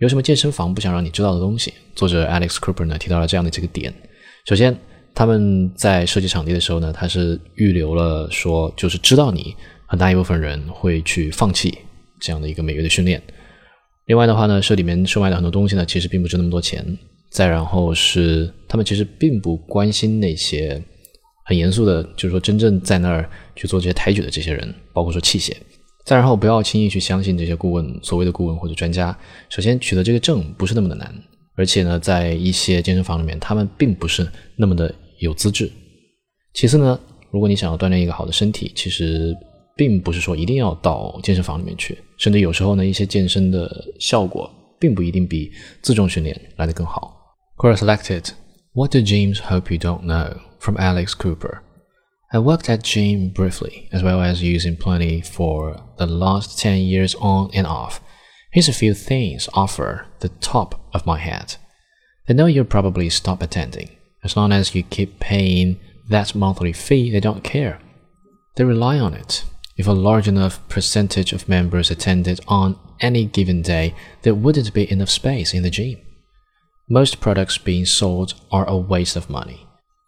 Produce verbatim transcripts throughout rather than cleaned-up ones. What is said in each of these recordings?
有什么健身房不想让你知道的东西？作者 Alex Cooper 呢提到了这样的这个点。首先，他们在设计场地的时候呢，他是预留了说，就是知道你很大一部分人会去放弃这样的一个每月的训练。另外的话呢，社里面售卖的很多东西呢，其实并不值那么多钱。再然后是他们其实并不关心那些很严肃的，就是说真正在那儿去做这些抬举的这些人，包括说器械。再然后不要轻易去相信这些顾问，所谓的顾问或者专家。首先取得这个证不是那么的难，而且呢，在一些健身房里面，他们并不是那么的有资质。其次呢，如果你想要锻炼一个好的身体，其实并不是说一定要到健身房里面去，甚至有时候呢，一些健身的效果并不一定比自重训练来得更好。Quote selected: What do gyms hope you don't know? From Alex Cooper. I worked at gym briefly, as well as using plenty for the last ten years on and off. Here's a few things offer the top of my head. They know you'll probably stop attending. As long as you keep paying that monthly fee, they don't care. They rely on it. If a large enough percentage of members attended on any given day, there wouldn't be enough space in the gym. Most products being sold are a waste of money.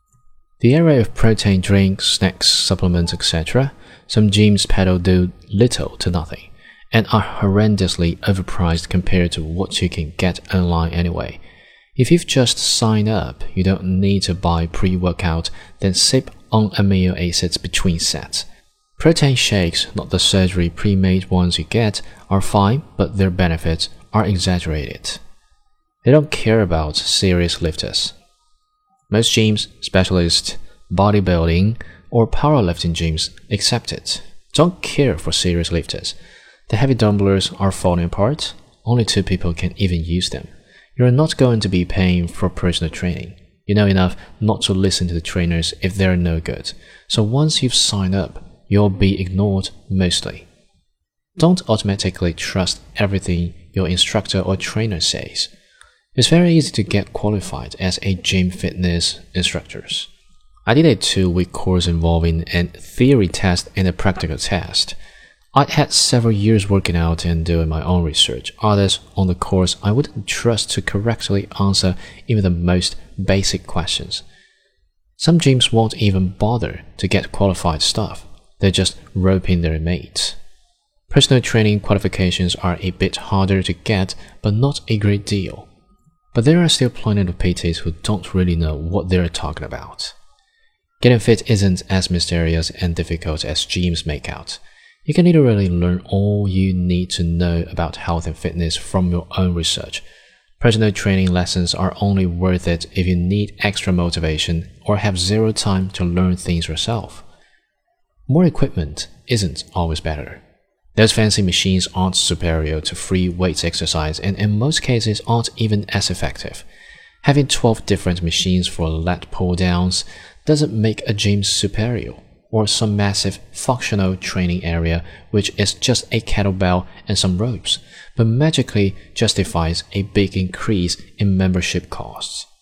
The area of protein drinks, snacks, supplements, et cetera, some gyms peddle do little to nothing, and are horrendously overpriced compared to what you can get online anyway. If you've just signed up, you don't need to buy pre-workout, then sip on amino acids between sets. Protein shakes, not the surgery pre-made ones you get, are fine, but their benefits are exaggerated. They don't care about serious lifters. Most gyms, specialist, bodybuilding, or powerlifting gyms excepted, don't care for serious lifters. The heavy dumbbells are falling apart. Only two people can even use them. You're not going to be paying for personal training. You know enough not to listen to the trainers if they're no good. So once you've signed up, you'll be ignored mostly. Don't automatically trust everything your instructor or trainer says. It's very easy to get qualified as a gym fitness instructor. I did a two-week course involving a theory test and a practical test. I had several years working out and doing my own research. Others on the course I wouldn't trust to correctly answer even the most basic questions. Some gyms won't even bother to get qualified staff. They're just roping their mates. Personal training qualifications are a bit harder to get, but not a great deal. But there are still plenty of P Ts who don't really know what they're talking about. Getting fit isn't as mysterious and difficult as gyms make out. You can literally learn all you need to know about health and fitness from your own research. Personal training lessons are only worth it if you need extra motivation or have zero time to learn things yourself. More equipment isn't always better. Those fancy machines aren't superior to free weights exercise and in most cases aren't even as effective. Having twelve different machines for lat pull-downs doesn't make a gym superior, or some massive functional training area which is just a kettlebell and some ropes, but magically justifies a big increase in membership costs.